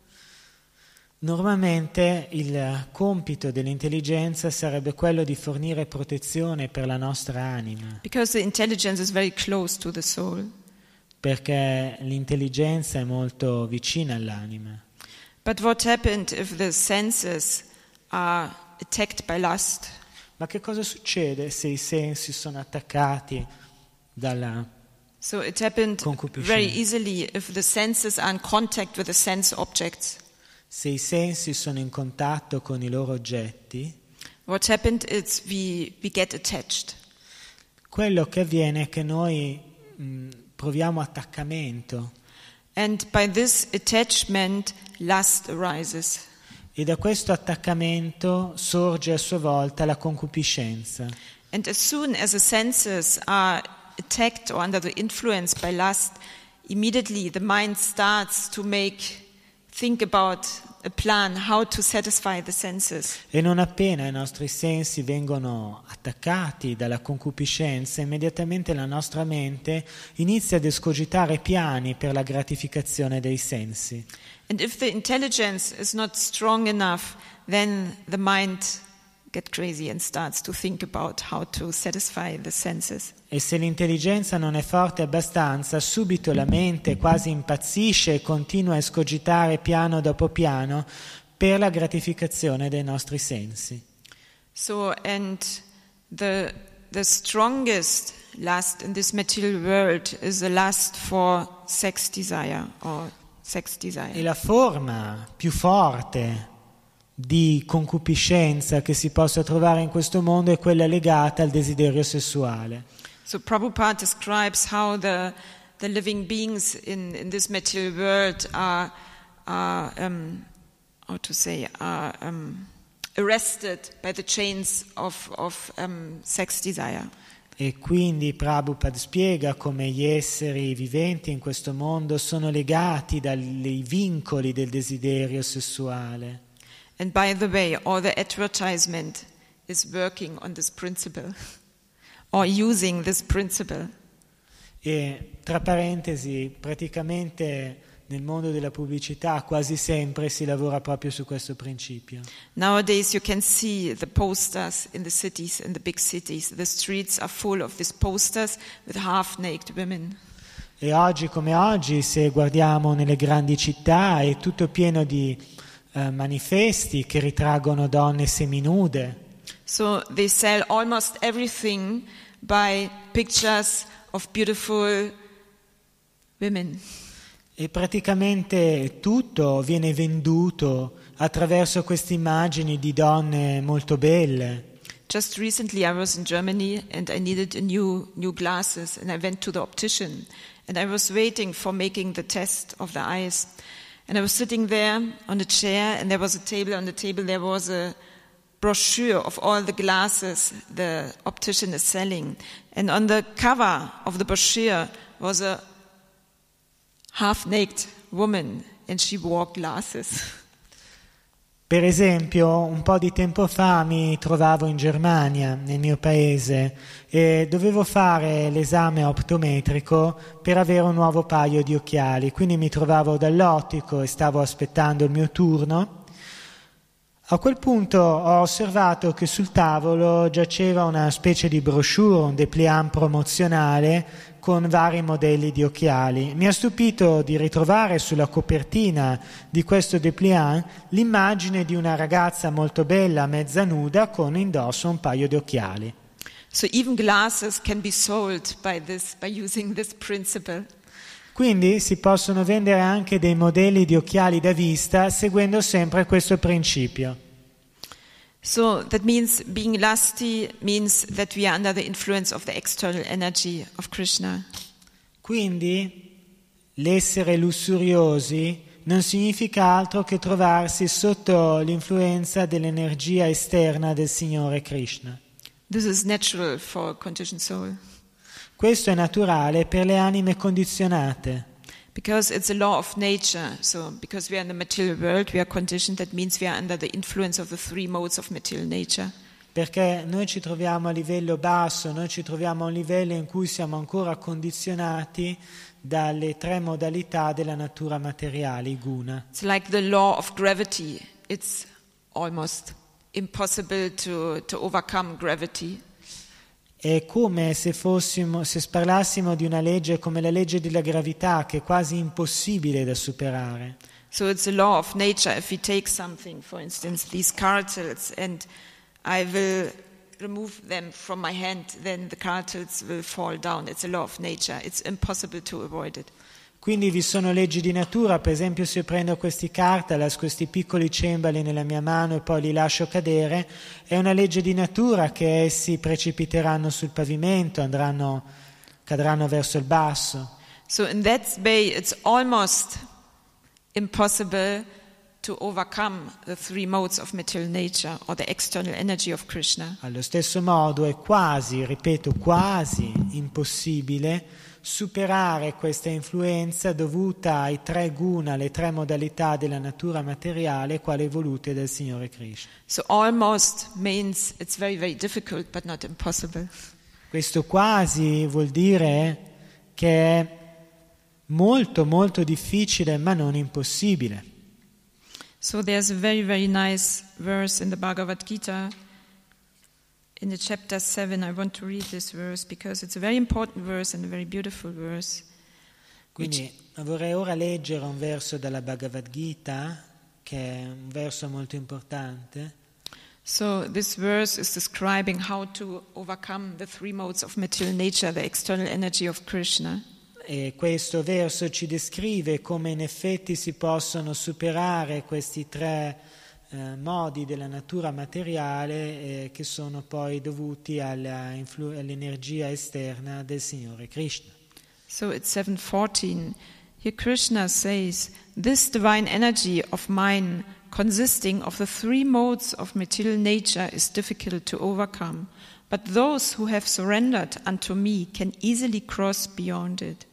Normalmente il compito dell'intelligenza sarebbe quello di fornire protezione per la nostra anima, Because the intelligence is very close to the soul. perché l'intelligenza è molto vicina all'anima. But what happened if the senses are attacked by lust? Ma che cosa succede se i sensi sono attaccati dalla So it happened concupiscenza? very easily if the senses are in contact with the sense objects. Se i sensi sono in contatto con i loro oggetti, What happened is we get attached. quello che avviene è che noi proviamo attaccamento, And by this attachment, lust arises. e da questo attaccamento sorge a sua volta la concupiscenza. And as soon as the senses are attacked or under the influence by lust, immediately the mind starts to think about a plan how to satisfy the senses. E non appena i nostri sensi vengono attaccati dalla concupiscenza, immediatamente la nostra mente inizia ad escogitare piani per la gratificazione dei sensi. And if the intelligence is not strong enough, then the mind gets crazy and starts to think about how to satisfy the senses. E se l'intelligenza non è forte abbastanza, subito la mente quasi impazzisce e continua a escogitare piano dopo piano per la gratificazione dei nostri sensi. So, and the strongest lust in this material world is the lust for sex desire or sex desire. E la forma più forte di concupiscenza che si possa trovare in questo mondo è quella legata al desiderio sessuale. So Prabhupada describes how the living beings in this material world are arrested by the chains of sex desire. E quindi Prabhupada spiega come gli esseri viventi in questo mondo sono legati dai vincoli del desiderio sessuale. And by the way, all the advertisement is working on this principle or using this principle. E tra parentesi, praticamente nel mondo della pubblicità quasi sempre si lavora proprio su questo principio. Nowadays you can see the posters in the cities, in the big cities. The streets are full of these posters with half-naked women. E oggi come oggi, se guardiamo nelle grandi città, è tutto pieno di manifesti che ritraggono donne seminude. So they sell almost everything by pictures of beautiful women. E praticamente tutto viene venduto attraverso queste immagini di donne molto belle. Just recently I was in Germany and I needed a new glasses and I went to the optician and I was waiting for making the test of the eyes. And I was sitting there on a chair and there was a table. On the table there was a brochure of all the glasses the optician is selling. And on the cover of the brochure was a half-naked woman and she wore glasses. Per esempio, un po' di tempo fa mi trovavo in Germania, nel mio paese, e dovevo fare l'esame optometrico per avere un nuovo paio di occhiali. Quindi mi trovavo dall'ottico e stavo aspettando il mio turno. A quel punto ho osservato che sul tavolo giaceva una specie di brochure, un dépliant promozionale con vari modelli di occhiali. Mi ha stupito di ritrovare sulla copertina di questo dépliant l'immagine di una ragazza molto bella, mezza nuda, con indosso un paio di occhiali. So even glasses can be sold by using this principle. Quindi si possono vendere anche dei modelli di occhiali da vista seguendo sempre questo principio. So that means being lusty means that we are under the influence of the external energy of Krishna. Quindi l'essere lussuriosi non significa altro che trovarsi sotto l'influenza dell'energia esterna del Signore Krishna. This is natural for a conditioned soul. Questo è naturale per le anime condizionate. Because it's a law of nature. So, because we are in the material world, we are conditioned. That means we are under the influence of the three modes of material nature. Perché noi ci troviamo a livello basso, noi ci troviamo a un livello in cui siamo ancora condizionati dalle tre modalità della natura materiale, i guna. It's like the law of gravity. It's almost impossible to overcome gravity. È come se parlassimo di una legge come la legge della gravità, che è quasi impossibile da superare. So it's a law of nature. If we take something, for instance, these cartels, and I will remove them from my hand, then the cartels will fall down. It's a law of nature. It's impossible to avoid it. Quindi vi sono leggi di natura, per esempio se io prendo questi cartalas, questi piccoli cembali nella mia mano e poi li lascio cadere, è una legge di natura che essi precipiteranno sul pavimento, cadranno verso il basso. So in that way it's almost impossible to overcome the three modes of material nature or the external energy of Krishna. Allo stesso modo è quasi, ripeto, quasi impossibile superare questa influenza dovuta ai tre guna, le tre modalità della natura materiale quale volute dal Signore Krishna. So almost means it's very, very difficult but not impossible. Questo quasi vuol dire che è molto molto difficile ma non impossibile. So there's a very, very nice verse in the Bhagavad Gita. In the chapter 7, I want to read this verse because it's a very important verse and a very beautiful verse. Quindi vorrei ora leggere un verso dalla Bhagavad Gita, che è un verso molto importante. So this verse is describing how to overcome the three modes of material nature, the external energy of Krishna. E questo verso ci descrive come in effetti si possono superare questi tre modi della natura materiale che sono poi dovuti all'energia esterna del Signore Krishna. So it's 7:14. Here Krishna says, "This divine energy of mine, consisting of the three modes of material nature, is difficult to overcome, but those who have surrendered unto me can easily cross beyond it."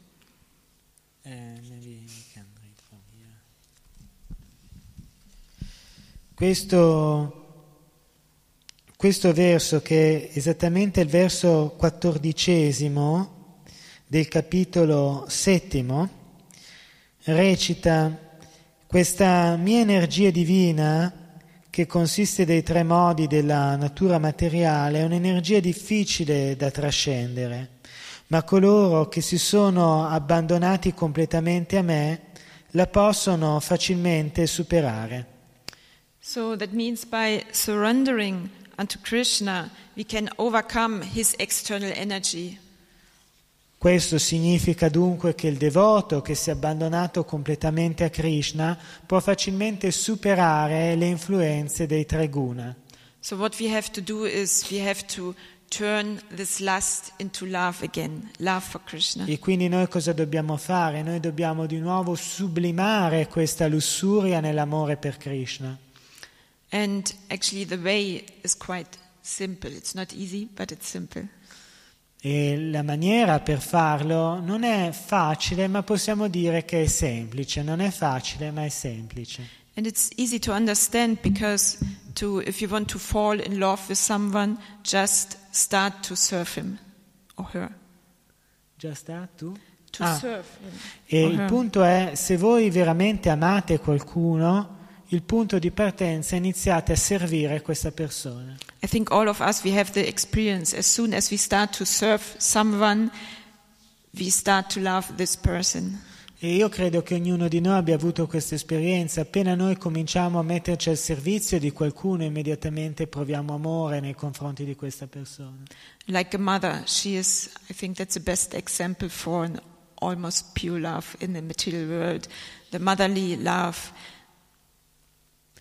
Questo verso, che è esattamente il verso 14 del capitolo 7, recita: questa mia energia divina, che consiste dei tre modi della natura materiale, è un'energia difficile da trascendere, ma coloro che si sono abbandonati completamente a me la possono facilmente superare. So that means by surrendering unto Krishna, we can overcome his external energy. Questo significa dunque che il devoto che si è abbandonato completamente a Krishna può facilmente superare le influenze dei tre guna. So what we have to do is we have to turn this lust into love again, love for Krishna. E quindi noi cosa dobbiamo fare? Noi dobbiamo di nuovo sublimare questa lussuria nell'amore per Krishna. And actually the way is quite simple. It's not easy, but it's simple. E la maniera per farlo non è facile, ma possiamo dire che è semplice. Non è facile, ma è semplice. And it's easy to understand because if you want to fall in love with someone, just start to serve him or her. Just start to serve him. E il punto è, se voi veramente amate qualcuno, il punto di partenza è iniziate a servire questa persona. I think all of us, we have the experience. As soon as we start to serve someone, we start to love this person. E io credo che ognuno di noi abbia avuto questa esperienza. Appena noi cominciamo a metterci al servizio di qualcuno, immediatamente proviamo amore nei confronti di questa persona. Like a mother, I think that's the best example for an almost pure love in the material world. The motherly love.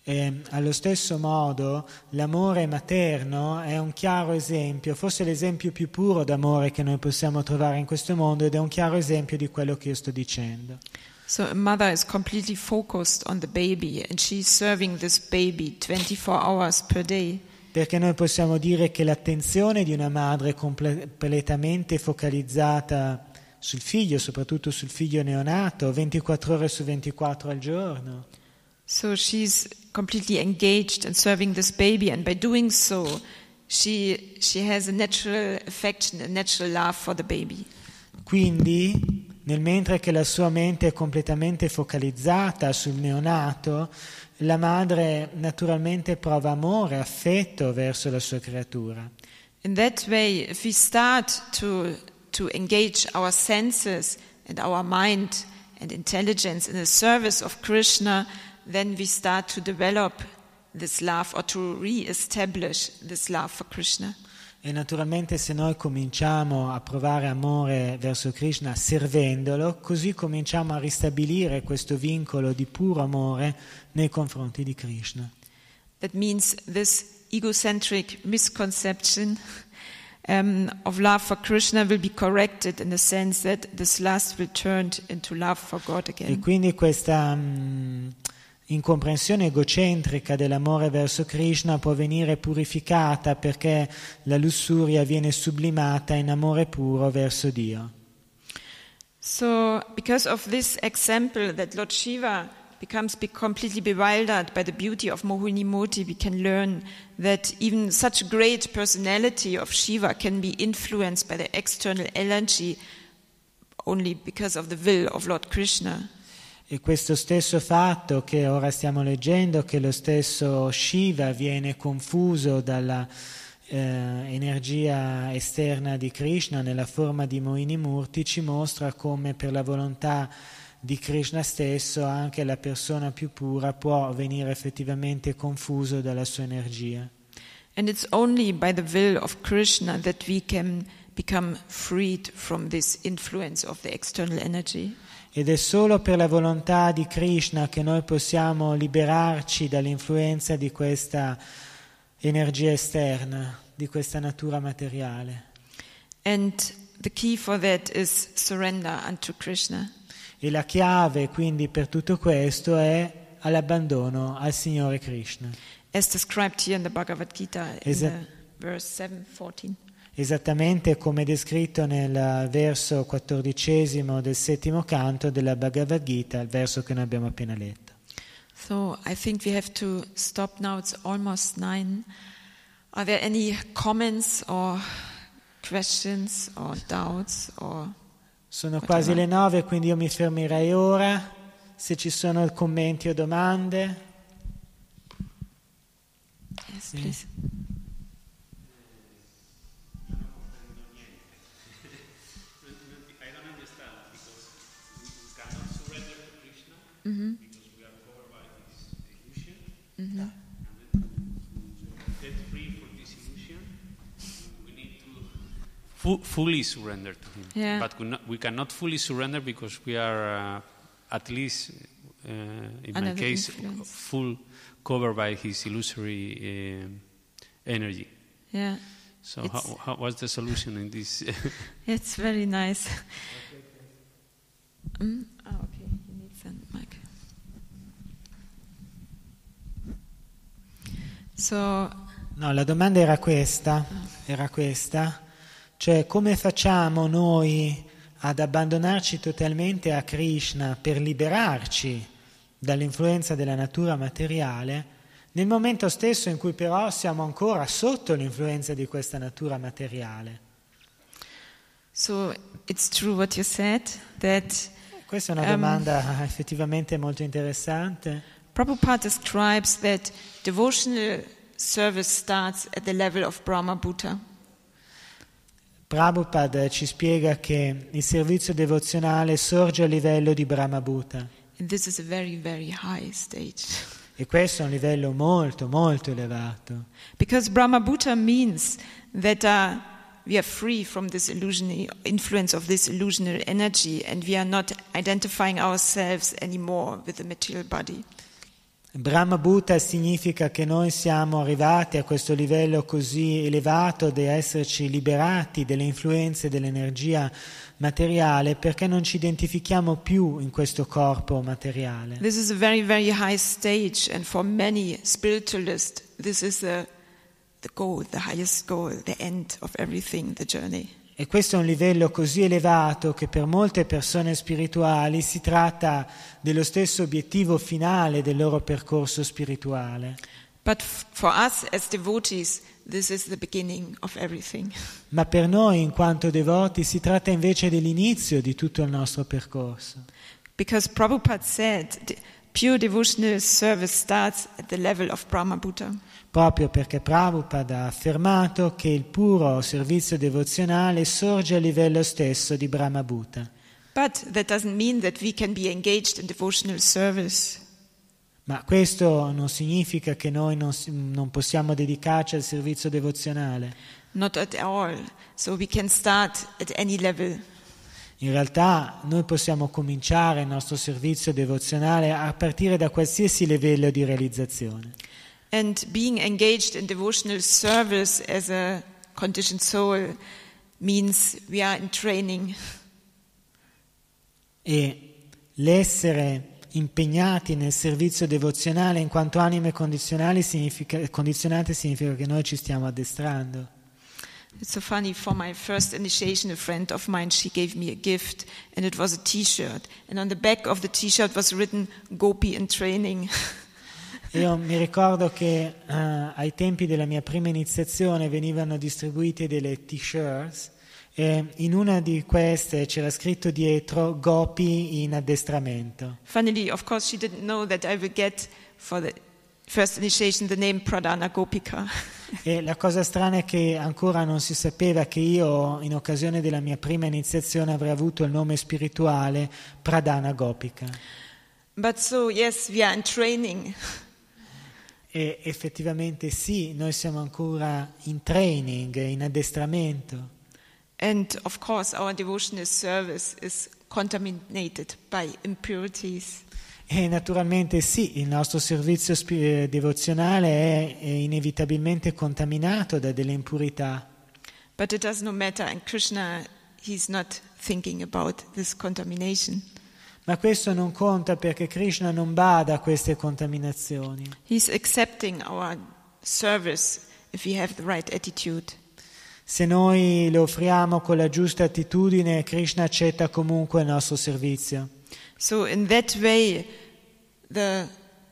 E allo stesso modo l'amore materno è un chiaro esempio, forse l'esempio più puro d'amore che noi possiamo trovare in questo mondo, ed è un chiaro esempio di quello che io sto dicendo. So a mother is completely focused on the baby and she's serving this baby 24 hours per day. Perché noi possiamo dire che l'attenzione di una madre è completamente focalizzata sul figlio, soprattutto sul figlio neonato, 24 ore su 24 al giorno. So she's completely engaged in serving this baby, and by doing so, she has a natural affection, a natural love for the baby. Quindi, nel mentre che la sua mente è completamente focalizzata sul neonato, la madre naturalmente prova amore, affetto verso la sua creatura. In that way, if we start to engage our senses and our mind and intelligence in the service of Krishna, then we start to develop this love or to re-establish this love for Krishna. E naturalmente se noi cominciamo a provare amore verso Krishna servendolo, così cominciamo a ristabilire questo vincolo di puro amore nei confronti di Krishna. That means this egocentric misconception of love for Krishna will be corrected in the sense that this lust will turn into love for God again. E quindi questa incomprensione egocentrica dell'amore verso Krishna può venire purificata perché la lussuria viene sublimata in amore puro verso Dio. So, because of this example that Lord Shiva becomes completely bewildered by the beauty of Mohini Murti, we can learn that even such great personality of Shiva can be influenced by the external energy only because of the will of Lord Krishna. E questo stesso fatto che ora stiamo leggendo, che lo stesso Shiva viene confuso dalla energia esterna di Krishna nella forma di Mohini Murti, ci mostra come per la volontà di Krishna stesso anche la persona più pura può venire effettivamente confuso dalla sua energia. And it's only by the will of Krishna that we can become freed from this influence of the external energy. Ed è solo per la volontà di Krishna che noi possiamo liberarci dall'influenza di questa energia esterna, di questa natura materiale. And the key for that is surrender unto Krishna. E la chiave quindi per tutto questo è all'abbandono al Signore Krishna. As described here in the Bhagavad Gita in the verse 7:14. Esattamente come descritto nel verso 14 del settimo canto della Bhagavad Gita, il verso che noi abbiamo appena letto. So I think we have to stop now, it's almost 9. Are there any comments or questions or doubts or Sono quasi le 9, quindi io mi fermerei ora. Se ci sono commenti o domande. Yes, please. Mm-hmm. Because we are covered by this illusion. Mm-hmm. And to get free from this illusion, we need to fully surrender to Him. Yeah. But we cannot fully surrender because we are at least, in Under my case, influence. full covered by His illusory energy. Yeah. So what's the solution in this? It's very nice. Okay, he needs a mic. So, No, la domanda era questa, cioè come facciamo noi ad abbandonarci totalmente a Krishna per liberarci dall'influenza della natura materiale nel momento stesso in cui però siamo ancora sotto l'influenza di questa natura materiale? so it's true what you said, that Questa è una domanda effettivamente molto interessante. Prabhupada describes that devotional service starts at the level of Brahma Bhuta. Prabhupada ci spiega che il servizio devozionale sorge a livello di Brahma Bhuta. And this is a very, very high stage. E questo è un livello molto, molto elevato. Because Brahma Bhuta means that we are free from this influence of this illusionary energy, and we are not identifying ourselves anymore with the material body. Brahma Bhuta significa che noi siamo arrivati a questo livello così elevato di esserci liberati delle influenze dell'energia materiale perché non ci identifichiamo più in questo corpo materiale. This is a very, very high stage, and for many spiritualists, this is the goal, the highest goal, the end of everything, the journey. E questo è un livello così elevato che per molte persone spirituali si tratta dello stesso obiettivo finale del loro percorso spirituale. But for us as devotees, this is the beginning of everything. Ma per noi, in quanto devoti, si tratta invece dell'inizio di tutto il nostro percorso. Because Prabhupada said, pure devotional service starts at the level of Brahma Bhuta. Proprio perché Prabhupada ha affermato che il puro servizio devozionale sorge a livello stesso di Brahma Bhuta. But that doesn't mean that we can be engaged in devotional service. Ma questo non significa che noi non possiamo dedicarci al servizio devozionale. Not at all. So we can start at any level. In realtà noi possiamo cominciare il nostro servizio devozionale a partire da qualsiasi livello di realizzazione. And being engaged in devotional service as a conditioned soul means we are in training. E l'essere impegnati nel servizio devozionale in quanto anime condizionate significa che noi ci stiamo addestrando. It's so funny, for my first initiation, a friend of mine, she gave me a gift, and it was a t-shirt. And on the back of the t-shirt was written, Gopi in training. Io mi ricordo che ai tempi della mia prima iniziazione venivano distribuite delle t-shirts e in una di queste c'era scritto dietro Gopi in addestramento. Funnily, of course, she didn't know that I would get for the first initiation the name Pradhana Gopika. E la cosa strana è che ancora non si sapeva che io in occasione della mia prima iniziazione avrei avuto il nome spirituale Pradhana Gopika. But so, yes, we are in training. E effettivamente sì, noi siamo ancora in training, in addestramento. And of course, our devotional service is contaminated by impurities. E naturalmente sì, il nostro servizio devozionale è inevitabilmente contaminato da delle impurità. But it does not matter, and Krishna, he's not thinking about this contamination. Ma questo non conta perché Krishna non bada a queste contaminazioni. He's accepting our service if we have the right attitude. Se noi lo offriamo con la giusta attitudine, Krishna accetta comunque il nostro servizio. So in that way, the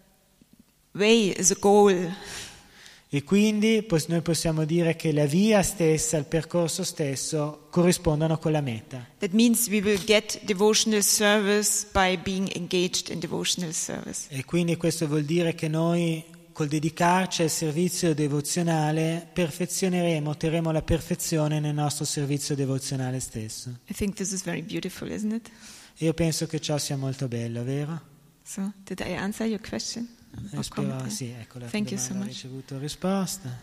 way is a goal. E quindi noi possiamo dire che la via stessa, il percorso stesso corrispondono con la meta. That means we will get devotional service by being engaged in devotional service. E quindi questo vuol dire che noi col dedicarci al servizio devozionale perfezioneremo, otterremo la perfezione nel nostro servizio devozionale stesso. I think this is very beautiful, isn't it? Io penso che ciò sia molto bello, vero? So, did I answer your question? Spero, sì, ecco, la Thank you so domanda ha much. ricevuto risposta.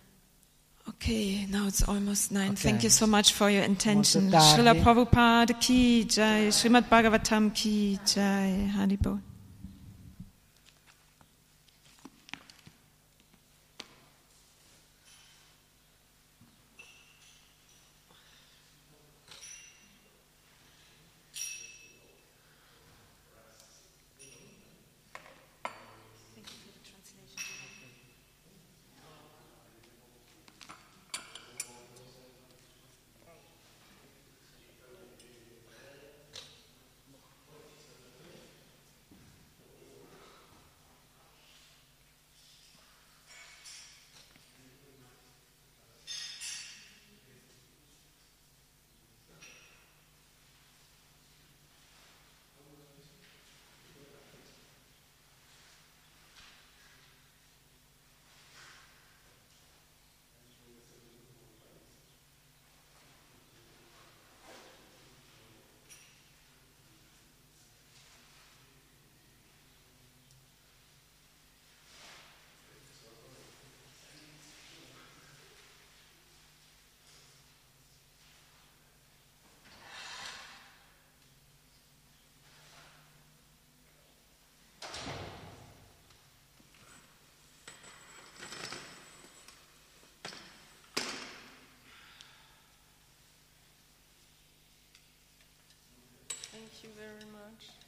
Okay, now it's almost 9. Okay. Thank you so much for your intention. Molto tardi. Srila Prabhupada ki jai, Srimad Bhagavatam ki jai, Haribol. you very much.